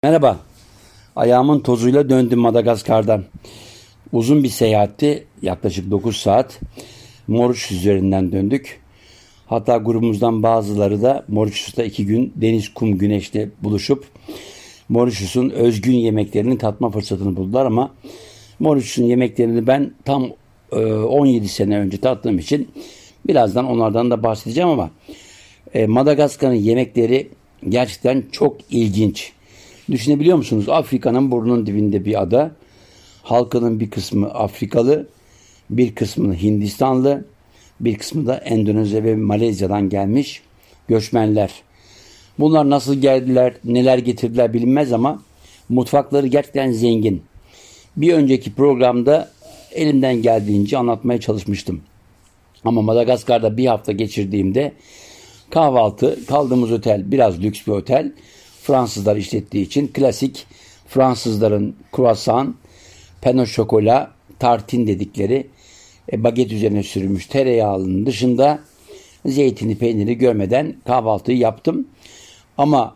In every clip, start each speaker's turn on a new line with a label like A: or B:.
A: Merhaba. Ayağımın tozuyla döndüm Madagaskar'dan. Uzun bir seyahatti. Yaklaşık 9 saat. Mauritius üzerinden döndük. Hatta grubumuzdan bazıları da Mauritius'ta 2 gün deniz, kum, güneşle buluşup Mauritius'un özgün yemeklerini tatma fırsatını buldular ama Mauritius'un yemeklerini ben tam 17 sene önce tattığım için birazdan onlardan da bahsedeceğim ama Madagaskar'ın yemekleri gerçekten çok ilginç. Düşünebiliyor musunuz? Afrika'nın burnunun dibinde bir ada. Halkının bir kısmı Afrikalı, bir kısmı Hindistanlı, bir kısmı da Endonezya ve Malezya'dan gelmiş göçmenler. Bunlar nasıl geldiler, neler getirdiler bilinmez ama mutfakları gerçekten zengin. Bir önceki programda elimden geldiğince anlatmaya çalışmıştım. Ama Madagaskar'da bir hafta geçirdiğimde kahvaltı, kaldığımız otel biraz lüks bir otel. Fransızlar işlettiği için klasik Fransızların croissant, pain au chocolat, tartin dedikleri baget üzerine sürülmüş tereyağının dışında zeytini, peyniri görmeden kahvaltıyı yaptım. Ama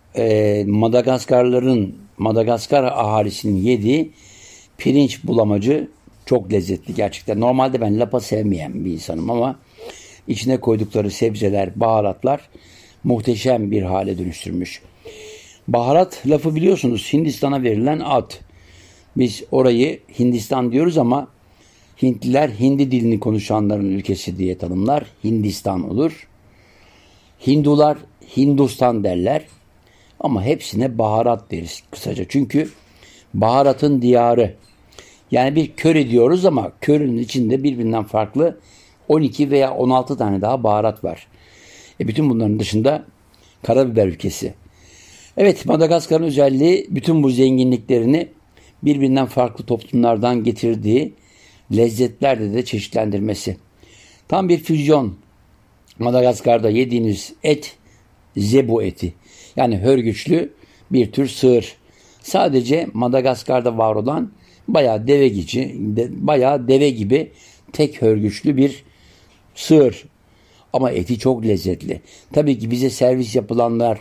A: Madagaskar ahalisinin yediği pirinç bulamacı çok lezzetli gerçekten. Normalde ben lapa sevmeyen bir insanım ama içine koydukları sebzeler, baharatlar muhteşem bir hale dönüştürmüş. Baharat lafı biliyorsunuz Hindistan'a verilen ad. Biz orayı Hindistan diyoruz ama Hintliler Hindi dilini konuşanların ülkesi diye tanımlar. Hindistan olur. Hindular Hindustan derler. Ama hepsine baharat deriz kısaca. Çünkü baharatın diyarı. Yani bir köri diyoruz ama körinin içinde birbirinden farklı 12 veya 16 tane daha baharat var. Bütün bunların dışında karabiber ülkesi. Evet, Madagaskar'ın özelliği bütün bu zenginliklerini birbirinden farklı toplumlardan getirdiği lezzetlerde de çeşitlendirmesi. Tam bir füzyon. Madagaskar'da yediğiniz et zebu eti. Yani hörgüçlü bir tür sığır. Sadece Madagaskar'da var olan bayağı deve gibi tek hörgüçlü bir sığır. Ama eti çok lezzetli. Tabii ki bize servis yapılanlar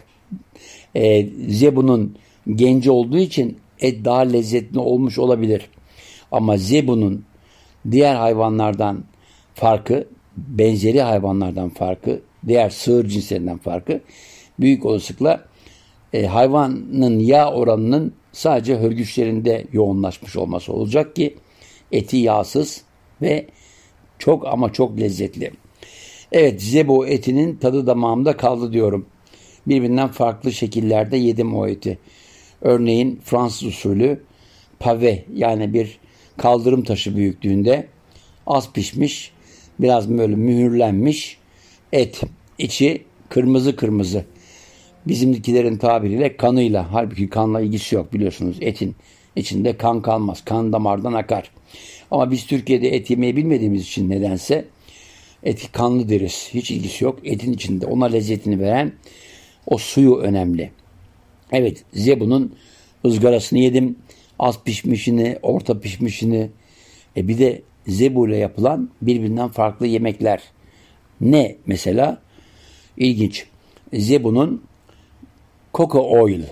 A: zebunun genci olduğu için et daha lezzetli olmuş olabilir. Ama zebunun diğer hayvanlardan farkı, benzeri hayvanlardan farkı, diğer sığır cinslerinden farkı büyük olasılıkla hayvanın yağ oranının sadece hörgüçlerinde yoğunlaşmış olması olacak ki eti yağsız ve çok ama çok lezzetli. Evet, zebu etinin tadı damağımda kaldı diyorum. Birbirinden farklı şekillerde yedim o eti. Örneğin Fransız usulü pave yani bir kaldırım taşı büyüklüğünde az pişmiş, biraz böyle mühürlenmiş et. İçi kırmızı kırmızı. Bizimkilerin tabiriyle kanıyla. Halbuki kanla ilgisi yok biliyorsunuz. Etin içinde kan kalmaz. Kan damardan akar. Ama biz Türkiye'de et yemeyi bilmediğimiz için nedense eti kanlı deriz. Hiç ilgisi yok. Etin içinde ona lezzetini veren o suyu önemli. Evet, zebunun ızgarasını yedim. Az pişmişini, orta pişmişini. Bir de zebu ile yapılan birbirinden farklı yemekler. Ne mesela? İlginç. Zebunun coco oil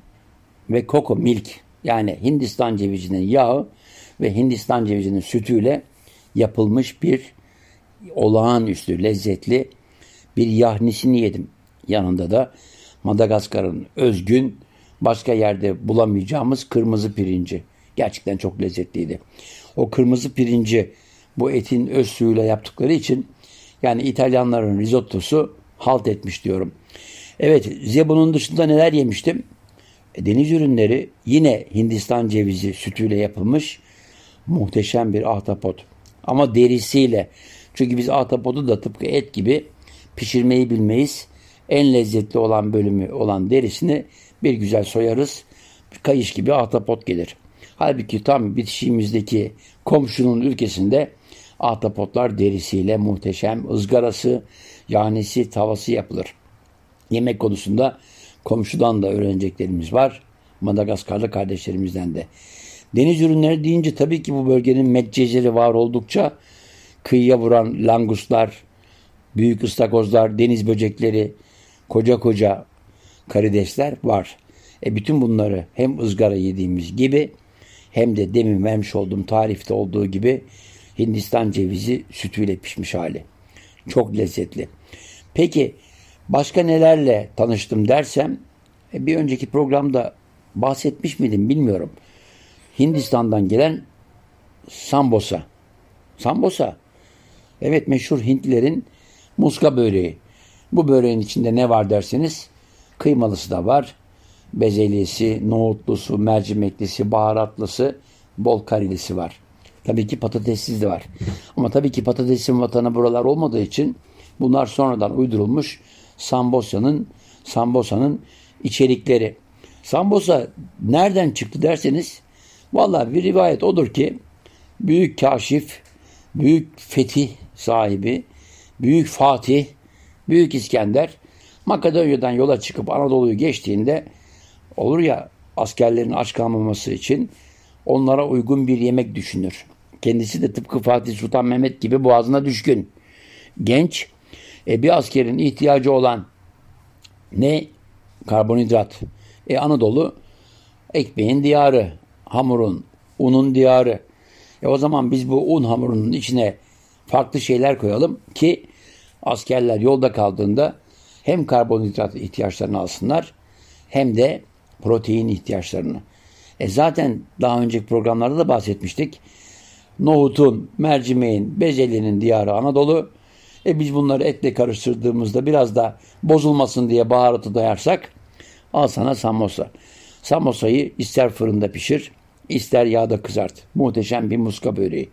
A: ve coco milk yani Hindistan cevizinin yağı ve Hindistan cevizinin sütüyle yapılmış bir olağanüstü lezzetli bir yahnisini yedim. Yanında da Madagaskar'ın özgün başka yerde bulamayacağımız kırmızı pirinci. Gerçekten çok lezzetliydi. O kırmızı pirinci bu etin öz suyuyla yaptıkları için yani İtalyanların risottosu halt etmiş diyorum. Evet, zebunun dışında neler yemiştim? Deniz ürünleri yine Hindistan cevizi sütüyle yapılmış muhteşem bir ahtapot. Ama derisiyle. Çünkü biz ahtapotu da tıpkı et gibi pişirmeyi bilmeyiz. En lezzetli olan bölümü olan derisini bir güzel soyarız. Bir kayış gibi ahtapot gelir. Halbuki tam bitişiğimizdeki komşunun ülkesinde ahtapotlar derisiyle muhteşem ızgarası, yahnisi, tavası yapılır. Yemek konusunda komşudan da öğreneceklerimiz var. Madagaskarlı kardeşlerimizden de. Deniz ürünleri deyince tabii ki bu bölgenin medceziri var oldukça kıyıya vuran langustlar, büyük ıstakozlar, deniz böcekleri, koca koca karidesler var. Bütün bunları hem ızgara yediğimiz gibi hem de demin vermiş olduğum tarifte olduğu gibi Hindistan cevizi sütüyle pişmiş hali. Çok lezzetli. Peki başka nelerle tanıştım dersem bir önceki programda bahsetmiş miydim bilmiyorum. Hindistan'dan gelen sambosa. Sambosa. Evet, meşhur Hintlilerin muska böreği. Bu böreğin içinde ne var derseniz kıymalısı da var. Bezelyesi, nohutlusu, mercimeklisi, baharatlısı, bol karilisi var. Tabii ki patatessiz de var. Ama tabii ki patatesin vatanı buralar olmadığı için bunlar sonradan uydurulmuş sambosanın içerikleri. Sambosa nereden çıktı derseniz vallahi bir rivayet odur ki büyük kaşif, büyük fetih sahibi, büyük Fatih, büyük İskender Makedonya'dan yola çıkıp Anadolu'yu geçtiğinde olur ya askerlerin aç kalmaması için onlara uygun bir yemek düşünür. Kendisi de tıpkı Fatih Sultan Mehmet gibi boğazına düşkün. Genç, bir askerin ihtiyacı olan ne? Karbonhidrat. Anadolu ekmeğin diyarı, hamurun, unun diyarı. O zaman biz bu un hamurunun içine farklı şeyler koyalım ki askerler yolda kaldığında hem karbonhidrat ihtiyaçlarını alsınlar hem de protein ihtiyaçlarını. Zaten daha önceki programlarda da bahsetmiştik. Nohutun, mercimeğin, bezelyenin diyarı Anadolu. Biz bunları etle karıştırdığımızda biraz da bozulmasın diye baharatı dayarsak al sana samosa. Samosayı ister fırında pişir, ister yağda kızart. Muhteşem bir muska böreği.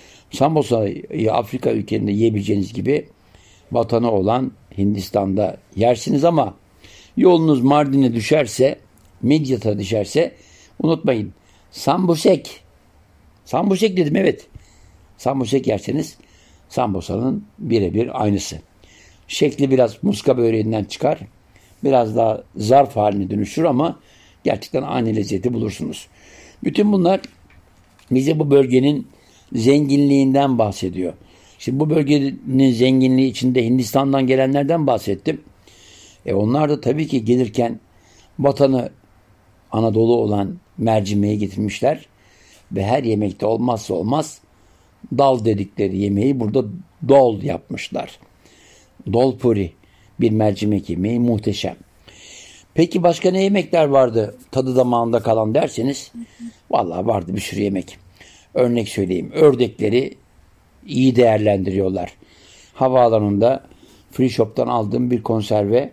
A: Samosayı Afrika ülkelerinde yiyebileceğiniz gibi vatanı olan Hindistan'da yersiniz ama yolunuz Mardin'e düşerse, Midyat'a düşerse unutmayın. Sambusek. Sambusek dedim, evet. Sambusek yerseniz sambosanın birebir aynısı. Şekli biraz muska böreğinden çıkar. Biraz daha zarf haline dönüşür ama gerçekten aynı lezzeti bulursunuz. Bütün bunlar bize bu bölgenin zenginliğinden bahsediyor. Şimdi bu bölgenin zenginliği içinde Hindistan'dan gelenlerden bahsettim. Onlar da tabii ki gelirken vatanı Anadolu olan mercimeği getirmişler. Ve her yemekte olmazsa olmaz dal dedikleri yemeği burada dol yapmışlar. Dol puri, bir mercimek yemeği, muhteşem. Peki başka ne yemekler vardı tadı damağında kalan derseniz? Vallahi vardı bir sürü yemek. Örnek söyleyeyim. Ördekleri iyi değerlendiriyorlar. Havaalanında free shop'tan aldığım bir konserve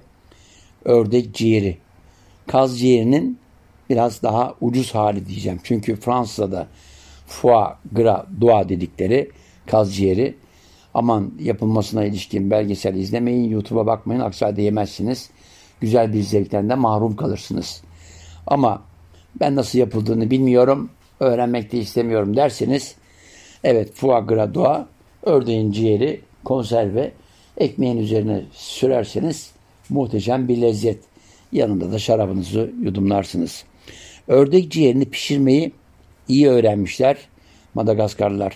A: ördek ciğeri. Kaz ciğerinin biraz daha ucuz hali diyeceğim. Çünkü Fransa'da foie gras doğa dedikleri kaz ciğeri. Aman yapılmasına ilişkin belgesel izlemeyin, YouTube'a bakmayın, aksi halde yemezsiniz. Güzel bir zevkten de mahrum kalırsınız. Ama ben nasıl yapıldığını bilmiyorum, öğrenmek de istemiyorum derseniz, evet, foie gras doğa, ördeğin ciğeri, konserve, ekmeğin üzerine sürerseniz muhteşem bir lezzet. Yanında da şarabınızı yudumlarsınız. Ördek ciğerini pişirmeyi iyi öğrenmişler Madagaskarlılar.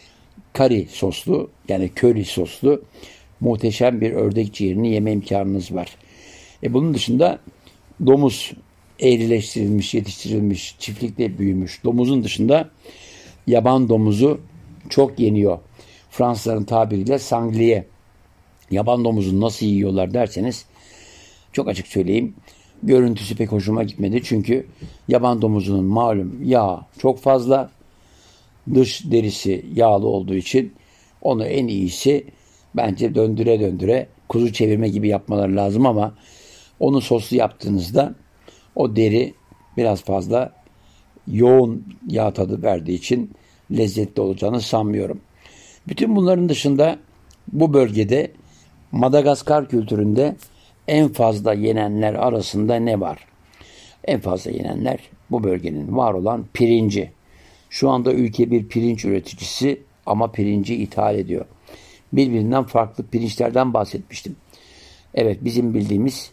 A: Kari soslu, yani köri soslu muhteşem bir ördek ciğerini yeme imkanınız var. Bunun dışında domuz, eğrileştirilmiş, yetiştirilmiş, çiftlikte büyümüş domuzun dışında yaban domuzu çok yeniyor. Fransızların tabiriyle sangliye. Yaban domuzunu nasıl yiyorlar derseniz çok açık söyleyeyim. Görüntüsü pek hoşuma gitmedi. Çünkü yaban domuzunun malum yağı çok fazla. Dış derisi yağlı olduğu için onu en iyisi bence döndüre döndüre kuzu çevirme gibi yapmaları lazım ama onu soslu yaptığınızda o deri biraz fazla yoğun yağ tadı verdiği için lezzetli olacağını sanmıyorum. Bütün bunların dışında bu bölgede Madagaskar kültüründe en fazla yenenler arasında ne var? En fazla yenenler bu bölgenin var olan pirinci. Şu anda ülke bir pirinç üreticisi ama pirinci ithal ediyor. Birbirinden farklı pirinçlerden bahsetmiştim. Evet, bizim bildiğimiz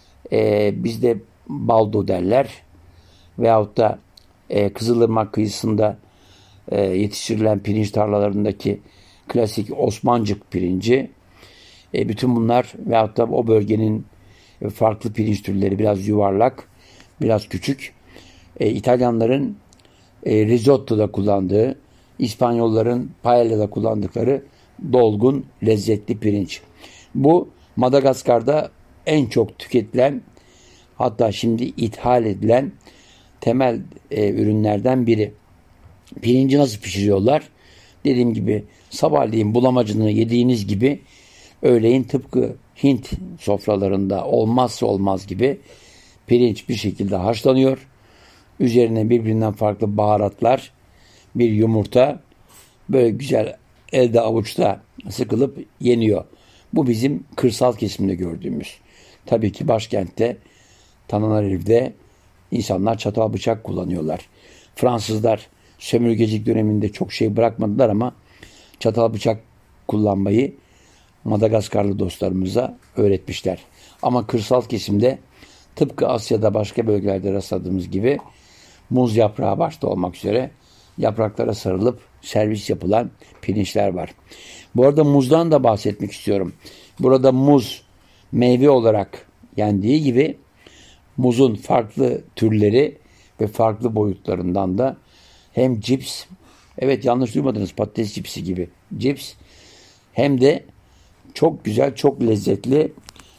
A: bizde baldo derler veyahut da Kızılırmak kıyısında yetiştirilen pirinç tarlalarındaki klasik Osmancık pirinci. Bütün bunlar veyahut da o bölgenin farklı pirinç türleri biraz yuvarlak, biraz küçük. İtalyanların risotto'da kullandığı, İspanyolların paella'da kullandıkları dolgun, lezzetli pirinç. Bu Madagaskar'da en çok tüketilen, hatta şimdi ithal edilen temel ürünlerden biri. Pirinci nasıl pişiriyorlar? Dediğim gibi sabahleyin bulamacını yediğiniz gibi öğleyin tıpkı Hint sofralarında olmazsa olmaz gibi pirinç bir şekilde haşlanıyor. Üzerine birbirinden farklı baharatlar, bir yumurta böyle güzel elde avuçta sıkılıp yeniyor. Bu bizim kırsal kesimde gördüğümüz. Tabii ki başkentte Tananarive'de insanlar çatal bıçak kullanıyorlar. Fransızlar sömürgecilik döneminde çok şey bırakmadılar ama çatal bıçak kullanmayı Madagaskarlı dostlarımıza öğretmişler. Ama kırsal kesimde tıpkı Asya'da başka bölgelerde rastladığımız gibi muz yaprağı başta olmak üzere yapraklara sarılıp servis yapılan pirinçler var. Bu arada muzdan da bahsetmek istiyorum. Burada muz meyve olarak yendiği gibi muzun farklı türleri ve farklı boyutlarından da hem cips, evet yanlış duymadınız, patates cipsi gibi cips, hem de çok güzel, çok lezzetli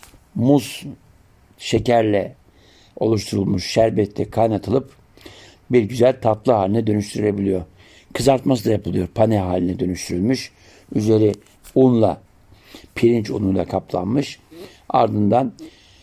A: muz şekerle oluşturulmuş şerbetle kaynatılıp bir güzel tatlı haline dönüştürülebiliyor. Kızartması da yapılıyor. Pane haline dönüştürülmüş. Üzeri unla, pirinç unuyla kaplanmış. Ardından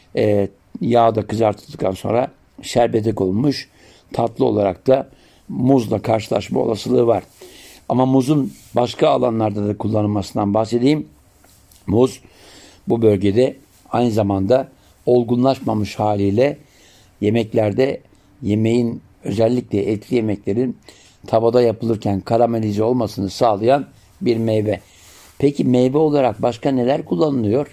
A: yağda kızartıldıktan sonra şerbete konulmuş. Tatlı olarak da muzla karşılaşma olasılığı var. Ama muzun başka alanlarda da kullanılmasından bahsedeyim. Muz bu bölgede aynı zamanda olgunlaşmamış haliyle yemeklerde, yemeğin özellikle etli yemeklerin tavada yapılırken karamelize olmasını sağlayan bir meyve. Peki meyve olarak başka neler kullanılıyor?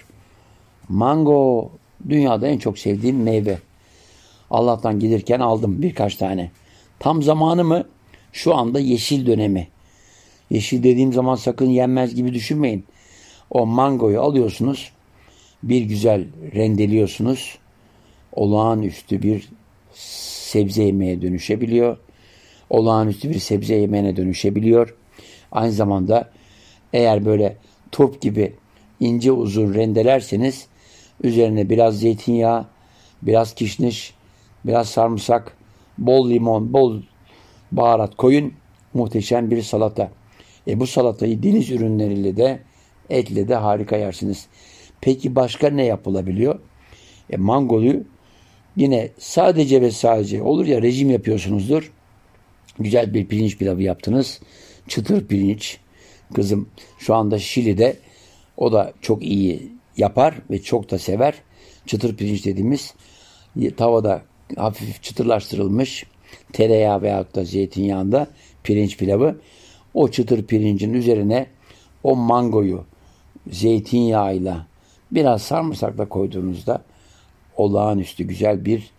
A: Mango dünyada en çok sevdiğim meyve. Allah'tan gelirken aldım birkaç tane. Tam zamanı mı? Şu anda yeşil dönemi. Yeşil dediğim zaman sakın yenmez gibi düşünmeyin. O mangoyu alıyorsunuz, bir güzel rendeliyorsunuz. Olağanüstü bir sebze yemeğe dönüşebiliyor. Olağanüstü bir sebze yemeğine dönüşebiliyor. Aynı zamanda eğer böyle turp gibi ince uzun rendelerseniz üzerine biraz zeytinyağı, biraz kişniş, biraz sarımsak, bol limon, bol baharat koyun. Muhteşem bir salata. Bu salatayı deniz ürünleriyle de etle de harika yersiniz. Peki başka ne yapılabiliyor? Mangoyu yine sadece ve sadece olur ya rejim yapıyorsunuzdur. Güzel bir pirinç pilavı yaptınız. Çıtır pirinç. Kızım şu anda Şili'de o da çok iyi yapar ve çok da sever. Çıtır pirinç dediğimiz tavada hafif çıtırlaştırılmış tereyağı veyahut da zeytinyağında pirinç pilavı. O çıtır pirincin üzerine o mangoyu zeytinyağıyla biraz sarımsakla koyduğunuzda olağanüstü güzel bir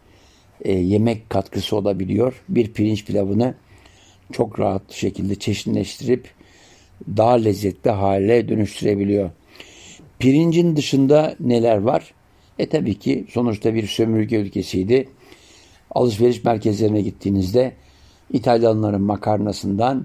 A: yemek katkısı olabiliyor. Bir pirinç pilavını çok rahat şekilde çeşitleştirip daha lezzetli hale dönüştürebiliyor. Pirincin dışında neler var? Tabii ki sonuçta bir sömürge ülkesiydi. Alışveriş merkezlerine gittiğinizde İtalyanların makarnasından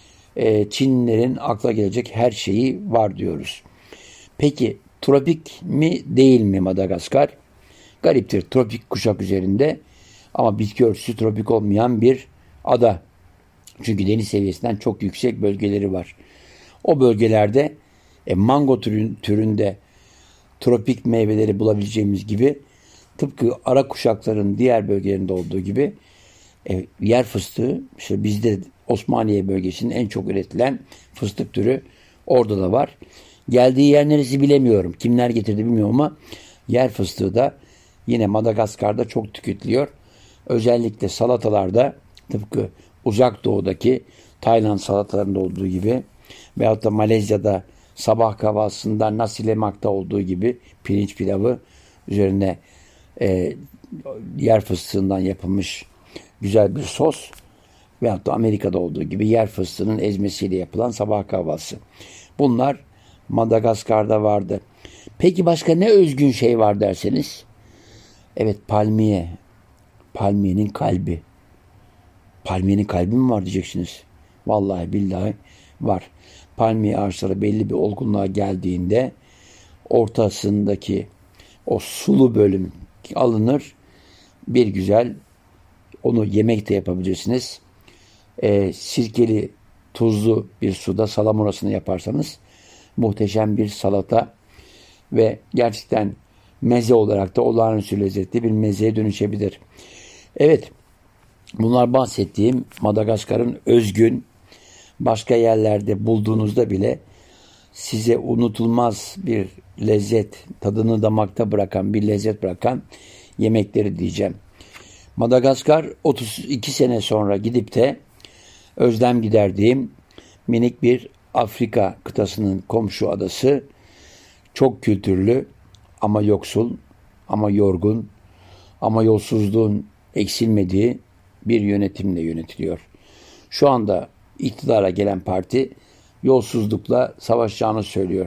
A: Çinlilerin akla gelecek her şeyi var diyoruz. Peki tropik mi değil mi Madagaskar? Gariptir, tropik kuşak üzerinde ama bitki örtüsü tropik olmayan bir ada. Çünkü deniz seviyesinden çok yüksek bölgeleri var. O bölgelerde mango türünde tropik meyveleri bulabileceğimiz gibi tıpkı ara kuşakların diğer bölgelerinde olduğu gibi yer fıstığı, işte bizde Osmaniye bölgesinin en çok üretilen fıstık türü orada da var. Geldiği yer neresi bilemiyorum. Kimler getirdi bilmiyorum ama yer fıstığı da yine Madagaskar'da çok tüketiliyor. Özellikle salatalarda tıpkı uzak doğudaki Tayland salatalarında olduğu gibi veyahut da Malezya'da sabah kahvaltısında nasi lemak'ta olduğu gibi pirinç pilavı üzerine yer fıstığından yapılmış güzel bir sos veyahut da Amerika'da olduğu gibi yer fıstığının ezmesiyle yapılan sabah kahvaltısı. Bunlar Madagaskar'da vardı. Peki başka ne özgün şey var derseniz? Evet, palmiye. Palmiyenin kalbi. Palmiyenin kalbi mi var diyeceksiniz. Vallahi billahi var. Palmiye ağaçları belli bir olgunluğa geldiğinde ortasındaki o sulu bölüm alınır. Bir güzel onu yemek de yapabilirsiniz. Sirkeli, tuzlu bir suda salamurasını yaparsanız muhteşem bir salata ve gerçekten meze olarak da olağanüstü lezzetli bir mezeye dönüşebilir. Evet, bunlar bahsettiğim Madagaskar'ın özgün, başka yerlerde bulduğunuzda bile size unutulmaz bir lezzet, tadını damakta bırakan, bir lezzet bırakan yemekleri diyeceğim. Madagaskar 32 sene sonra gidip de özlem giderdiğim minik bir Afrika kıtasının komşu adası, çok kültürlü ama yoksul, ama yorgun, ama yolsuzluğun eksilmediği bir yönetimle yönetiliyor. Şu anda iktidara gelen parti yolsuzlukla savaşacağını söylüyor.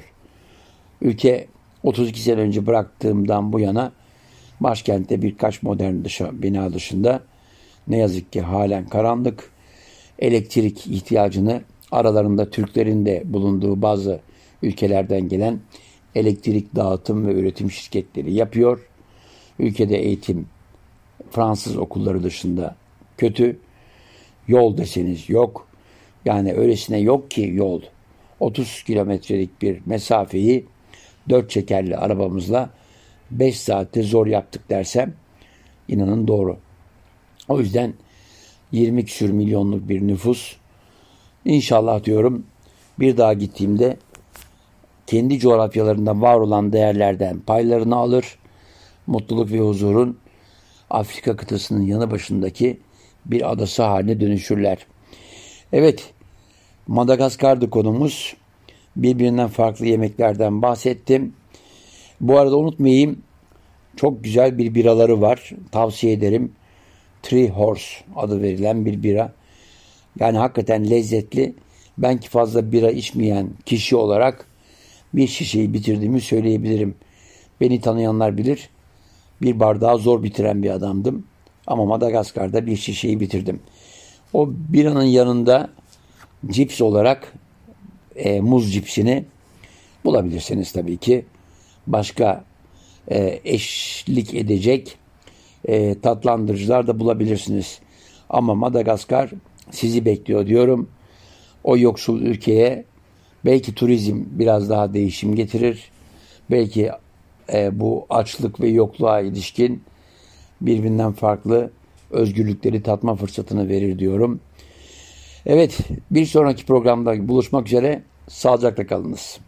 A: Ülke 32 sene önce bıraktığımdan bu yana başkentte birkaç modern bina dışında ne yazık ki halen karanlık. Elektrik ihtiyacını aralarında Türklerin de bulunduğu bazı ülkelerden gelen elektrik dağıtım ve üretim şirketleri yapıyor. Ülkede eğitim Fransız okulları dışında kötü. Yol deseniz yok. Yani öylesine yok ki yol. 30 kilometrelik bir mesafeyi 4 çekerli arabamızla 5 saatte zor yaptık dersem inanın doğru. O yüzden 20 küsür milyonluk bir nüfus, İnşallah diyorum bir daha gittiğimde kendi coğrafyalarında var olan değerlerden paylarını alır, mutluluk ve huzurun Afrika kıtasının yanı başındaki bir adası haline dönüşürler. Evet, Madagaskar'dı konumuz. Birbirinden farklı yemeklerden bahsettim. Bu arada unutmayayım, çok güzel bir biraları var. Tavsiye ederim. Three Horse adı verilen bir bira. Yani hakikaten lezzetli. Ben ki fazla bira içmeyen kişi olarak bir şişeyi bitirdiğimi söyleyebilirim. Beni tanıyanlar bilir. Bir bardağı zor bitiren bir adamdım. Ama Madagaskar'da bir şişeyi bitirdim. O biranın yanında cips olarak muz cipsini bulabilirsiniz tabii ki. Başka eşlik edecek tatlandırıcılar da bulabilirsiniz. Ama Madagaskar sizi bekliyor diyorum. O yoksul ülkeye belki turizm biraz daha değişim getirir. Belki bu açlık ve yokluğa ilişkin birbirinden farklı özgürlükleri tatma fırsatını verir diyorum. Evet, bir sonraki programda buluşmak üzere. Sağlıcakla kalınız.